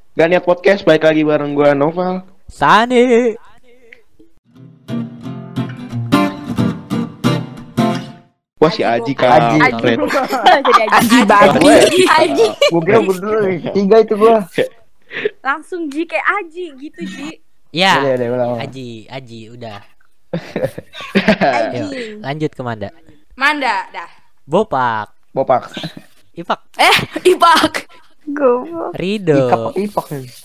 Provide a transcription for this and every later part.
Gak Niat Podcast, balik lagi bareng gue Noval. Sani. Wah si Aji Aji. kampret. Jadi Aji babi. Aji. Gue kira berdua tiga itu gue. Langsung Ji kayak Aji gitu Ji. Ya. Udah, ulang. Aji, udah. Aji. Yuk, lanjut ke Manda. Manda dah. Bopak, Bopak. Ipak, Ipak. Goblok. Rido, Ipak.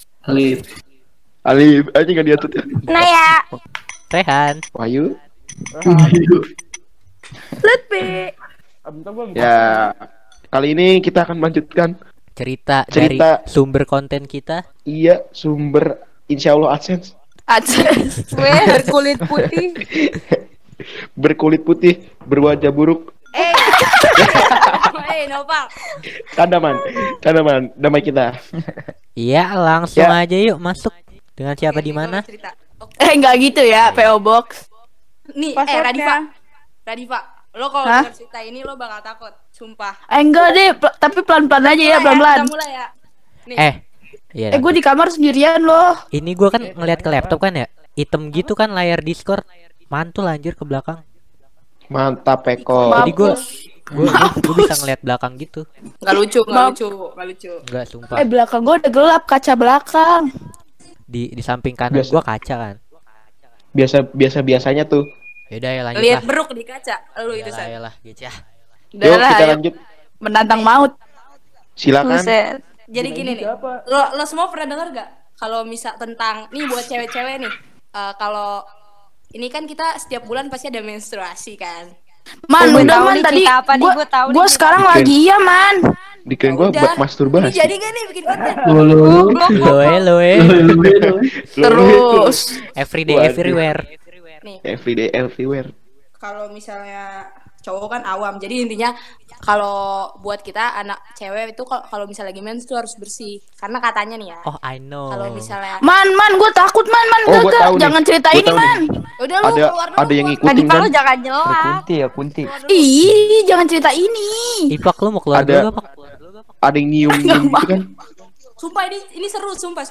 Alif, aja gak diatur ya. Naya. Rehan. Wahyu. Lutfi. Ya, kali ini kita akan melanjutkan Cerita Cerita. dari sumber konten kita. iya sumber Insya Allah AdSense Aces. Berkulit putih. berkulit putih, berwajah buruk. Nopal. Tanaman, damai kita. Iya, langsung Ya. aja yuk masuk. Dengan siapa di mana? Enggak gitu ya, PO Box. Nih, Passwordnya. Radifa. Lo kalau Hah? denger cerita ini lo bakal takut, sumpah. Enggak deh, tapi pelan-pelan aja ya, pelan-pelan. Kita mulai ya. Nih. Iya. Gue di kamar sendirian loh. Ini gua kan ngeliat ke laptop kan ya. Hitam gitu kan layar Discord. Mantul anjir ke belakang. Mantap Peko. Jadi gua bisa ngeliat belakang gitu. Enggak lucu. Enggak, sumpah. Belakang gue udah gelap, kaca belakang. Di samping kanan Biasa. gua kaca kan. Biasanya tuh. Yaudah ya lanjut Lihat lah. beruk di kaca. Lu itu San. Yalah, gitu ya. Udah Yuk lah, kita ayo. lanjut. Menantang maut. Silakan. Jadi gini nih. Lo semua pernah dengar gak kalau misal tentang nih buat cewek-cewek nih. Kalau ini kan kita setiap bulan pasti ada menstruasi kan. Man, Gua udah tahu man nih tadi. cerita apa nih, gua tahu nih Gue cerita sekarang apa. lagi iya man. Dikirain gue Udah. buat Ini masturbasi. jadi gak nih bikin konten? Loe. Terus. Everyday Waduh. everywhere. Nih, Everyday everywhere. kalau misalnya cowok kan awam. Jadi intinya kalau buat kita anak cewek itu kalau misalnya lagi mens tuh harus bersih. Karena katanya nih ya. Oh, I know. Kalau misalnya Man, gue takut man. Oh, gua Gak. tahu nih. Jangan cerita Gua ini tahu nih. man. udah lu keluar dulu. Ada yang keluar. ngikutin kan? jangan nyela. Kunti. Ih, jangan cerita ini. Ipak lu mau keluar Ada- dulu apa? Ada yang nyium gitu kan? Sumpah ini seru, sumpah.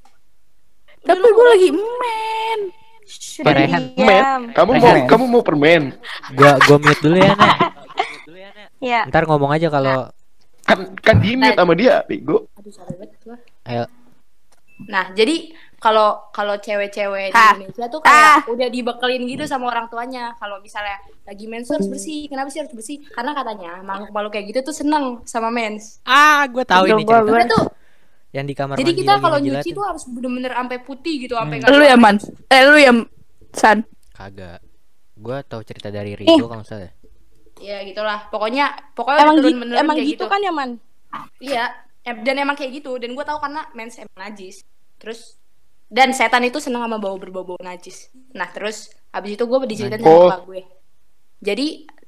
Tapi gue lagi men. Rehan. Kamu mau permen? Gua mute dulu ya, Nek. Iya. Ntar ngomong aja kalau Kan di mute sama dia, bego. Aduh, salah banget gua. ayo. Nah, jadi kalau cewek-cewek di Ah. Indonesia tuh kayak udah dibekelin gitu sama orang tuanya. Kalau misalnya lagi mens tuh harus bersih. Kenapa sih harus bersih? Karena katanya makhluk-makhluk kayak gitu tuh seneng sama mens. Gua tahu ini cerita. Udah tuh. Yang di kamar Jadi mandi kita lagi kalau ngejilatin. nyuci tuh harus bener-bener sampai putih gitu, sampai Lu ya man. Lu ya San. Kagak. Gua tahu cerita dari Rido kalau nggak salah. Ya gitulah. Pokoknya Emang udah gitu, turun-menurun emang kayak gitu kan ya man. Iya, dan emang kayak gitu. Dan gue tahu karena mens emang najis. Terus dan setan itu seneng sama berbau najis. Nah terus abis itu gue diceritain sama Oh. kakak gue. Jadi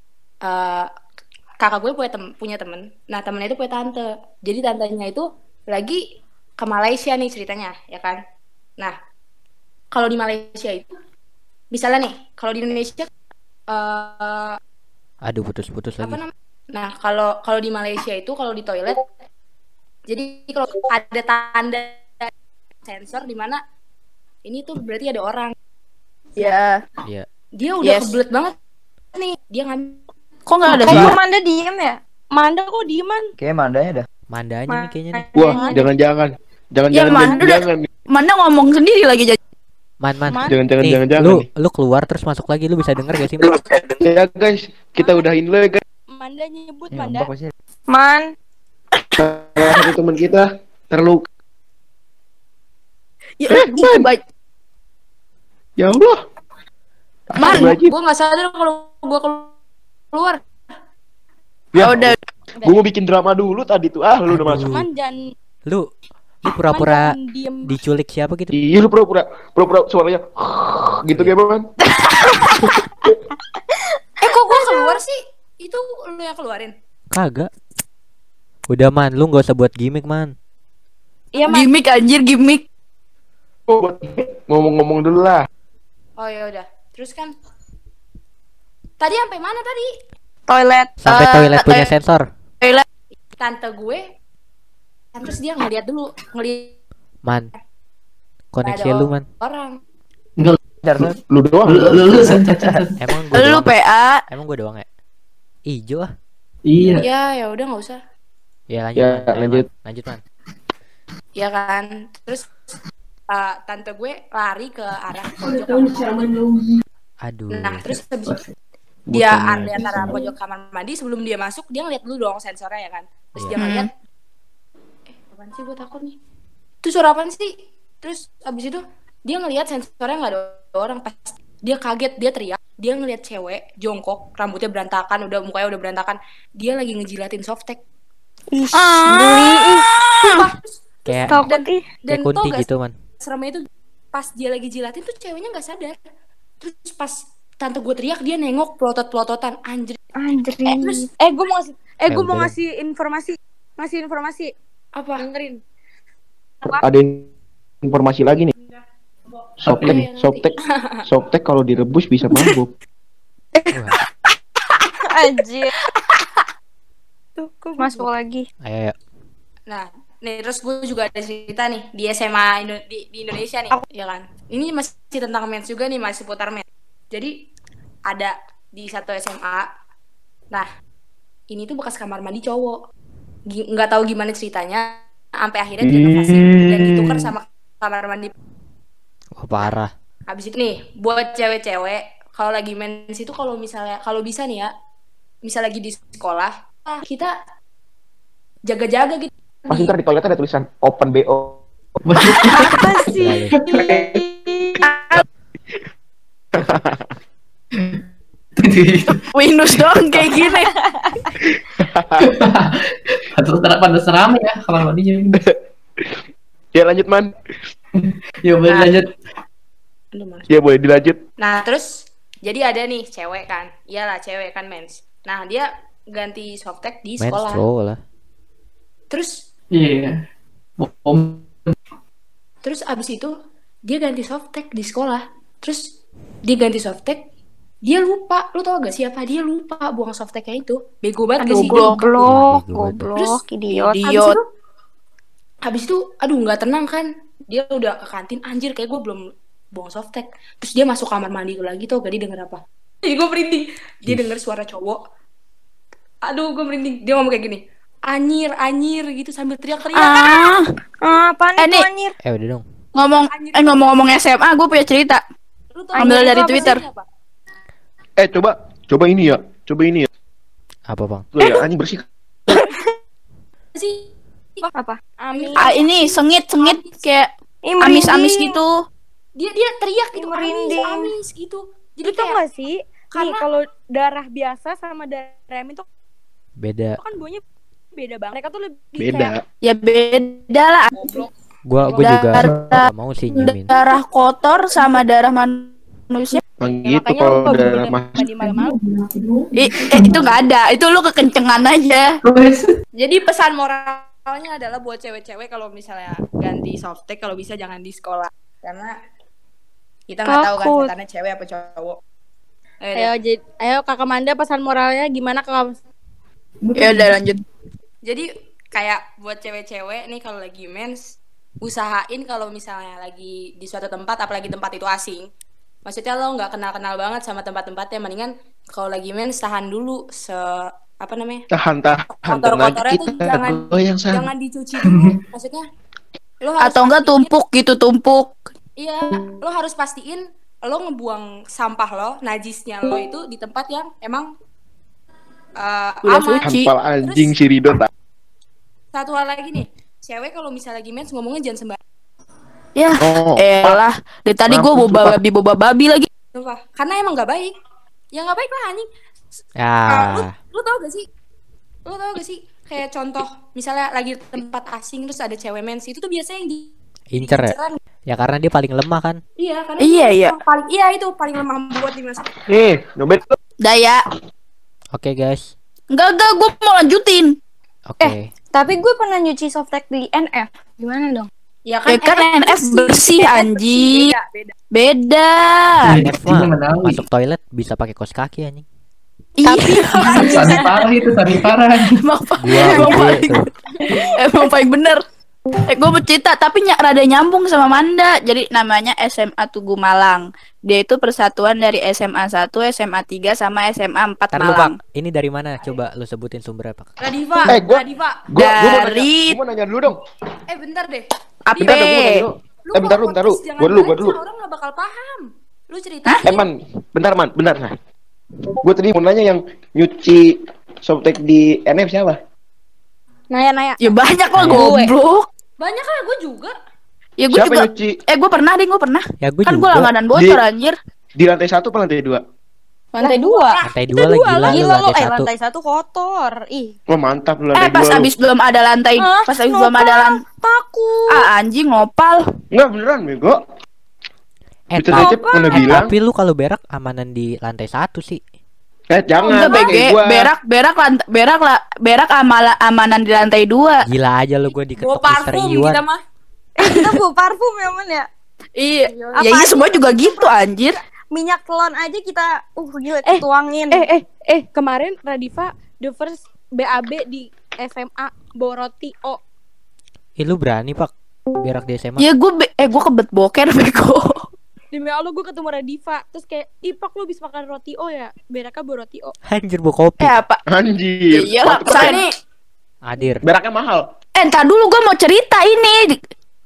kakak gue punya temen. Nah temennya itu punya tante. Jadi tantenya itu lagi ke Malaysia nih ceritanya, ya kan? Nah kalau di Malaysia itu, misalnya nih, kalau di Indonesia Aduh, putus-putus apa lagi. namanya? Nah, kalau di Malaysia itu kalau di toilet, jadi kalau ada tanda sensor di mana ini tuh berarti ada orang. Ya. Iya. Dia udah Yes. kebelet banget nih. Dia ngambil. Kok nggak ada Iya. suara? Manda diem ya? Manda kok dieman? Kayaknya mandanya dah. Mandanya nih kayaknya nih. Wah, jangan-jangan. Ya, Man, udah. Jangan. Mana ngomong sendiri lagi jadi. Man. Jangan. Nih, Jangan. lu keluar terus masuk lagi, lu bisa denger gak sih? Man? Ya guys, kita udahin dulu ya guys. Manda nyebut Ini ngambek pasti. Man. Salah satu teman kita terluka. Ya, Man. baik. Ya Allah. Man, Astagfirullahaladzim. Gue nggak sadar kalau gue keluar. Ya, udah. gue mau bikin drama dulu tadi tuh. Lu udah masuk. Dan Lu pura-pura diculik siapa gitu? Iya, lu pura-pura suaranya gitu kayak man. kok gue keluar sih? Itu lu yang keluarin. Kagak. Udah Man, lu gak usah buat gimmick Man. Iya Gimik anjir, gimik. Oh, buat ngomong-ngomong dulu lah. Oh ya udah. Terus kan tadi sampai mana tadi? Toilet. Sampai toilet punya sensor. Toilet. Tante gue kan terus dia ngeliat dulu Man, koneksi Ada lu man. orang. Lu doang. Lu cacat. Emang gue Lu doang. PA. Emang gue doang ya? Ijo ah. Iya. Ya udah nggak usah. Ya lanjut Ya, man. Ayo, lanjut. Man. Lanjut man. Ya kan. Terus tante gue lari ke arah pojok kamar mandi. Aduh. Nah, terus habis dia Bukannya di antara pojok kamar mandi, sebelum dia masuk dia ngeliat dulu dong sensornya ya kan. Terus dia ngeliat, apaan sih, gue takut nih. Itu suara apaan sih? Terus abis itu dia ngeliat sensornya nggak ada orang. Pas dia kaget, dia teriak, dia ngeliat cewek jongkok, rambutnya berantakan, mukanya udah berantakan, dia lagi ngejilatin softtek. Ih, geli ih. Sumpah. Kayak Takut ih. Dan kayak kunti tau gak gitu man. seremnya itu pas dia lagi jilatin tuh ceweknya nggak sadar. Terus pas tante gue teriak, dia nengok pelotot-pelototan, anjir. Anjir. Terus Gue mau ngasih gue mau udah. ngasih informasi. apa? Dengerin. Ada informasi lagi nih. Softtek kalau direbus bisa mabuk. Wah, Anjir. Tuh, masuk lagi. ayo. Nah, nih terus gue juga ada cerita nih di SMA di Indonesia nih, ya kan. Ini masih tentang mens juga nih, masih putar mens. Jadi ada di satu SMA. Nah, ini tuh bekas kamar mandi cowok. Nggak tahu gimana ceritanya, sampai akhirnya direnovasi dan ditukar sama kamar mandi. Wah parah. Habis itu nih, buat cewek-cewek kalau lagi mens itu kalau bisa nih ya, misal lagi di sekolah, kita jaga-jaga gitu. Pasti ntar di toiletnya ada tulisan open BO. Apa sih? Windows doang kayak gini. Pantas rame ya kamar mandinya. Ya lanjut man. Ya boleh lanjut. Aduh, males. Ya boleh dilanjut. Nah, terus jadi ada nih cewek kan. Iyalah cewek kan mens. Nah, dia ganti softtek di Main sekolah. stroll lah. Terus Iya. terus abis itu dia ganti softtek di sekolah. Terus dia ganti softtek, dia lupa. Lu tau gak siapa? Dia lupa buang softteknya itu. Bego banget gak Aduh, sih? Goblok, Terus idiot. Idiot. Habis itu aduh nggak tenang kan. Dia udah ke kantin, anjir kayak gue belum buang softtek. Terus dia masuk kamar mandi lagi, tau gak dia denger apa? Jadi gue merinding. Dia denger suara cowok. Aduh, gue merinding. Dia ngomong kayak gini, anyir gitu sambil teriak-teriak. Apaan itu nih. anjir? Udah dong. Ngomong-ngomong SMA, gue punya cerita. Lu tau Ambil gak dari apa Twitter. sih, apa? Coba ini ya. Apa bang? Tuh ya, anjing bersih. Sih. Apa? Amin. Ini sengit kayak Ih, amis-amis merinding. gitu. Dia teriak gitu, Merinding. amis gitu. Jadi Lu tau kayak gak sih? Nih karena- kalau darah biasa sama darah amin tuh Beda. kan baunya beda banget. Mereka tuh lebih Beda. Ya beda lah. Gua juga Darah- gak mau sih nyimin. Darah kotor sama darah manusia. Emang kayak, gitu makanya kalau lu kalau udah minum mas. mandi malam-malam Itu nggak ada. Itu lu kekencengan aja. Jadi pesan moralnya adalah buat cewek-cewek kalau misalnya ganti softtek kalau bisa jangan di sekolah karena kita nggak tahu kan Takut. setannya cewek apa cowok. ayo Kakak Manda pesan moralnya gimana Kakak? Ya udah lanjut. Jadi kayak buat cewek-cewek nih kalau lagi mens usahain kalau misalnya lagi di suatu tempat apalagi tempat itu asing. Maksudnya lo nggak kenal-kenal banget sama tempat-tempatnya, mendingan kalau lagi mens tahan dulu apa namanya? Tahan Kotor-kotornya tuh jangan dicuci dulu. Maksudnya lo harus Atau enggak pastiin- tumpuk. Iya, lo harus pastiin lo ngebuang sampah lo, najisnya lo itu di tempat yang emang Udah aman. suci. Hampal anjing si Ridho tak. Satu hal lagi nih, cewek kalau misalnya lagi mens ngomongnya jangan sembarangan. Ya, Oh, elah. Dari tadi gue Sumpah. boba babi lagi. Sumpah. Karena emang gak baik. Ya gak baik lah anjing. Ya. Lu tau gak sih? Lu tau gak sih? Kayak contoh, misalnya lagi di tempat asing terus ada cewek mens, itu tuh biasanya yang Incer ya. diinceran. Ya karena dia paling lemah kan. Iya, karena Iya, itu iya. itu paling lemah buat dimasuk. Nih, nyobet. Daya. Oke guys. Enggak, gue mau lanjutin. Oke. Tapi gue pernah nyuci softtek di NF. Gimana dong? Ya Ya kan NF bersih anjing. Beda. Beda. NF mah Menawi. masuk toilet bisa pakai kaos kaki anjing. Iya. Sari parah itu, sari parah. Emang Gua emang ide paling, tuh. emang paling bener. Gue bercerita tapi rada nyambung sama Manda. Jadi namanya SMA Tugu Malang. Dia itu persatuan dari SMA 1, SMA 3 sama SMA 4 Ntar lu, Pak. Malang. Ini dari mana? Coba lu sebutin sumbernya, Pak. Radiva, Gua Radiva. Dari- Gua mau nanya dulu dong. Bentar deh. AP. Bentar dong, gua mau nanya dulu. Bentar kalau lu, bentar lu. podcast jangan Gua dulu. baca, orang nggak bakal paham. Lu cerita. Man, bentar nah. Gua tadi mau nanya yang nyuci softtek di NF siapa? Naya. Ya banyak lah Gue. goblok. Banyak lah, gue juga. Ya gue Siapa juga. nyuci Gue pernah deh, gue pernah. Ya gue Kan gue juga. langganan bocor anjir. di lantai 1 apa lantai 2? Lantai 2. Lantai 2 lah gila lu Gila lu, lantai 1. lantai 1 kotor. Ih, Wah, mantap lu lantai 2. Pas abis belum ada lantai, pas abis belum ada lantai. takut. Anjing ngopal. Enggak beneran, bego. Bisa ta- Cecep mana bilang? tapi lu kalau berak amanan di lantai 1 sih. Jangan. Enggak kayak BG, gua. berak amanan di lantai 2. Gila aja lu gue Bawa diketok Mister parfum Iwan. kita mah. Kita bawa parfum ya, Man ya. Iya. Apa Ya iya aja semua juga gitu anjir. Minyak telon aja kita gila tuangin. Kemarin Radifa the first BAB di SMA bawa roti Ih lu berani, Pak. Berak di SMA. Ya gue kebet boker bego. Demi Allah gue ketemu Radifa terus kayak Pak lu bisa makan roti ya beraknya bawa roti Anjir bawa kopi. Apa? Anjir. Iya lah, saya nih. Hadir. Beraknya mahal. Entar dulu gue mau cerita ini.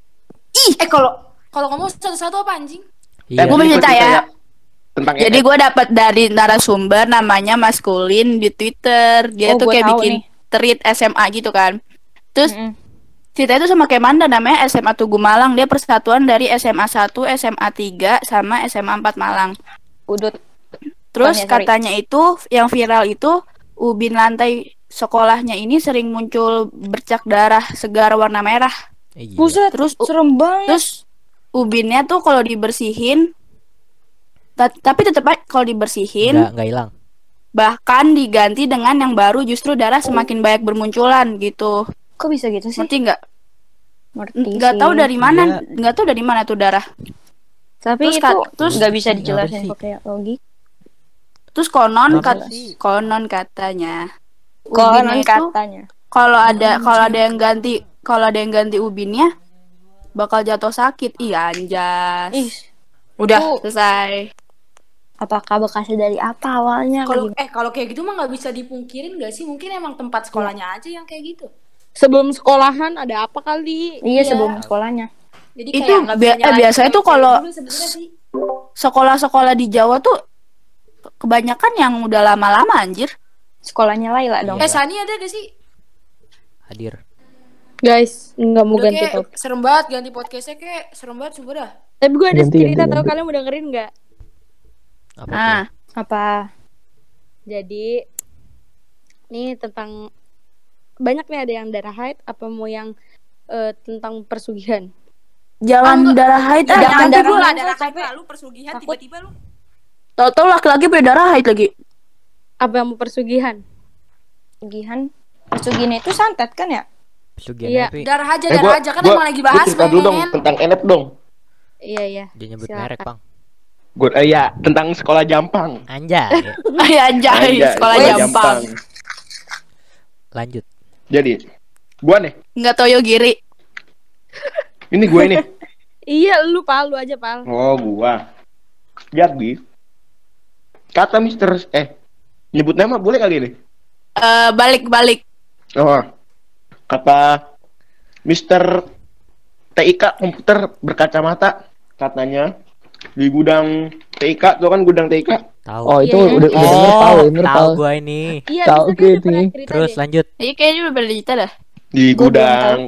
Kalau ngomong satu-satu apa anjing? Iya. Gua mau cerita ya. Tentang Jadi gue dapat dari narasumber namanya Maskulin di Twitter. Dia tuh gua kayak tahu bikin nih. tweet SMA gitu kan. Terus cerita itu sama kayak Manda, namanya SMA Tugu Malang. Dia persatuan dari SMA 1, SMA 3 sama SMA 4 Malang. udut. Terus Bukan ya, sorry. katanya itu yang viral itu ubin lantai sekolahnya ini sering muncul bercak darah segar warna merah. Iya. Buset, Terus serem banget. Terus ubinnya tuh kalau dibersihin tapi tetap aja kalau dibersihin Enggak hilang. bahkan diganti dengan yang baru justru darah semakin banyak bermunculan gitu. Kok bisa gitu sih? Ngerti nggak? Ngerti Nggak sih. tahu dari mana, Iya. nggak tahu dari mana tuh darah. Tapi Terus itu terus nggak bisa Kenapa dijelasin sih? pakai logik. Terus Kenapa sih? konon katanya Konon ubinnya itu katanya. kalau ada yang ganti ubinnya bakal jatuh sakit. Iya anjas. Ih, Udah itu- selesai. apakah bekasnya dari apa awalnya? Kalau kayak gitu mah nggak bisa dipungkirin nggak sih? Mungkin emang tempat sekolahnya aja yang kayak gitu. Sebelum sekolahan ada apa kali? Iya, sebelum sekolahnya. Jadi Itu kayak nggak bisa nyalahin biasanya tuh cewek kalau- dulu sebenarnya sih. Sekolah-sekolah di Jawa tuh kebanyakan yang udah lama-lama anjir. Sekolahnya Laila dong. Iya. Sani ada gak sih? Hadir. Guys, nggak mau Udah ganti kayak topik. serem banget ganti podcastnya kayak serem banget sumpah dah. Tapi gue ada Ganti, cerita ganti, tau ganti. kalian mau dengerin nggak? Apa Ah, tuh? Apa? Jadi ini tentang banyak nih, ada yang darah haid, apa mau yang tentang persugihan. jangan darah haid ah. Jangan Jangan darah dulu lah haid, darah capek. haid lu persugihan Takut. tiba-tiba lu. Tahu-tahu laki-laki punya darah haid lagi. Apa yang mau persugihan? Persugihan itu santet kan ya? Pesugihan Iya. tapi Darah aja kan emang lagi bahas cerita dulu dong men. tentang NF dong. Iya. dia nyebut Silakan. merek, Bang. Gue ya tentang sekolah Jampang. Anjay. Ay anjay, sekolah Jampang. Lanjut. Jadi, gua nih. Enggak Toyo Giri. Ini gue nih. Iya, lu aja Pal. Oh, gua. Jadi, kata Mister nyebut nama boleh kali ini? Balik. Oh. Kata Mister TIK komputer berkacamata, katanya di gudang TIK, tuh kan gudang TIK. Tahu. Oh, itu Iya. udah denger Pal, denger tahu Pal. gua ini. Iya, Tahu bisa kan gitu pernah nih. cerita Terus deh. lanjut. Iya kayaknya udah beli cerita dah. Di Gua belum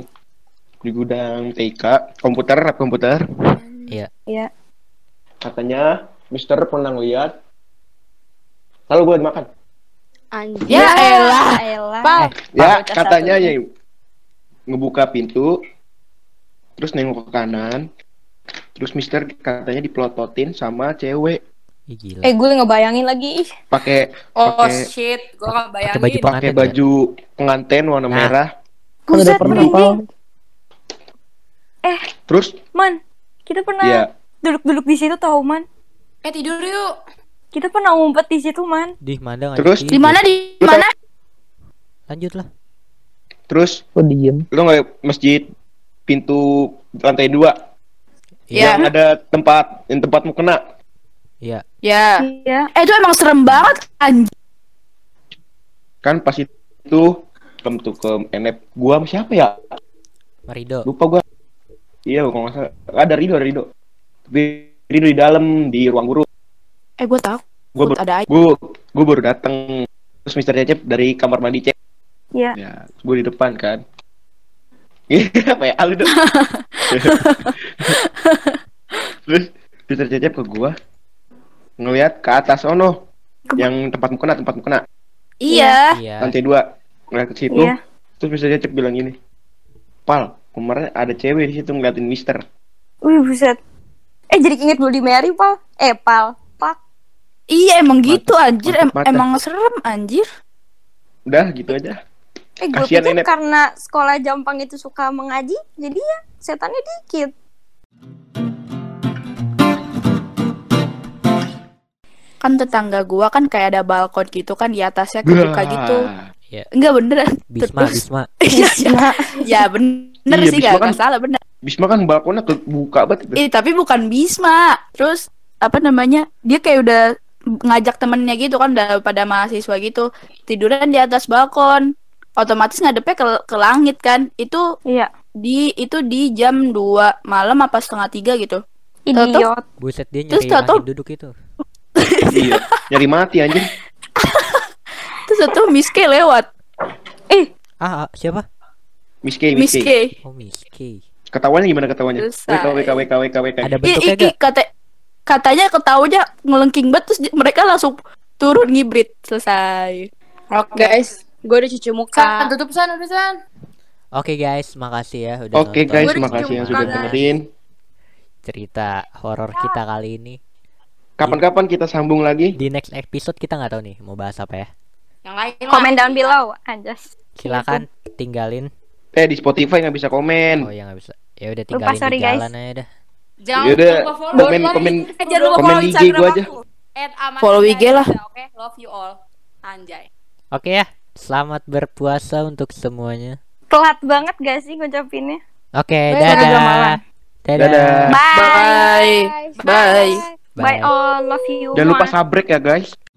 gudang TIK komputer. Iya. Iya. Katanya Mister pernah lihat. Lalu gue makan. Anjir. Ya elah. Pal. Ya, Bocah katanya satu. ya ngebuka pintu, terus nengok ke kanan, terus Mister katanya dipelototin sama cewek Ih, gila. Gue ngebayangin lagi. Ih. pakai Oh pakai shit, gua gak bayangin. Pakai baju pakai pengantin baju pengantin warna Nah. merah. Kan udah Buset, pernah merinding. Pal. Terus Man, kita pernah ya duduk-duduk di situ tahu, Man. Tidur yuk. Kita pernah ngumpet di situ, Man. Di mana Terus? Di mana di mana? Lanjut lah. terus Kok diem? lu nggak masjid pintu lantai 2 Iya. yang ada yang tempatmu kena. Iya. Ya. Iya. Itu emang serem banget anjir. Kan pas itu tuh ke NF gua sama siapa ya? Marido. Lupa gua. Iya, kalau nggak salah. Ada Rido. Tapi Rido di dalam di ruang guru. Gue tahu. Gua Ada aja. Gua baru datang. Terus Mister Cecep dari kamar mandi cek. Iya. Ya, gua di depan kan. Iya, apa ya? Alu dong. Terus Mister Cecep ke gua ngelihat ke atas yang tempatmu kena. Iya. Iya. Lantai 2. Ngeliat ke situ. Iya. Terus Mister Cecep bilang gini. Pal, kemarin ada cewek di situ ngeliatin Mister. Wih, buset. Jadi inget Bloody Mary, Pal. Pal. Pak. Iya emang gitu anjir. mantep. Emang serem anjir. Udah gitu aja. Gue Kasian pikir Nenek. karena sekolah Jampang itu suka mengaji, jadi ya setannya dikit. Kan tetangga gua kan kayak ada balkon gitu kan di atasnya kebuka gitu. Iya. Enggak beneran. Bisma. Ya bener Iya, sih Bisma gak kan- salah bener. Bisma kan balkonnya kebuka banget itu. Tapi bukan Bisma. Terus apa namanya? Dia kayak udah ngajak temennya gitu kan udah pada mahasiswa gitu. Tiduran di atas balkon. Otomatis ngadepnya ke langit kan. Itu Iya. di jam 2 malam apa setengah 3 gitu. Idiot. Buset dia Terus nyari tahu-tahu- angin duduk itu. Iya, nyari mati anjing. Terus itu Miss K lewat. Siapa? Miss K. Miss K. Oh, Miss K. Ketawanya gimana ketawanya? Selesai. WK. Ada bentuknya gak? Katanya ketawanya ngelengking banget terus mereka langsung turun ngibrit. Selesai. Oke. Guys, gue udah cuci muka. Tutup San. Oke guys, makasih ya udah Oke nonton guys, Gua udah makasih yang cium sudah tangan. dengerin. cerita horor kita kali ini. Kapan-kapan kita sambung lagi. Di next episode kita nggak tahu nih mau bahas apa ya. Yang lain lah. Komen down below, anjas. Silakan tinggalin. Di Spotify nggak bisa komen. Oh ya nggak bisa. Ya udah Lupa, tinggalin sorry, di guys. jalan aja dah. Jangan Yaudah, lupa follow. komen Jangan lupa komen follow IG Instagram gua aja. aku. @aman Follow IG lah. Oke, love you all. Anjay. Oke ya, selamat berpuasa untuk semuanya. Telat banget gak sih ngucapinnya? Oke, Bye, udah dadah. malam. Dadah. Bye. Bye. Bye all, love you. Jangan lupa more. sabrek ya guys.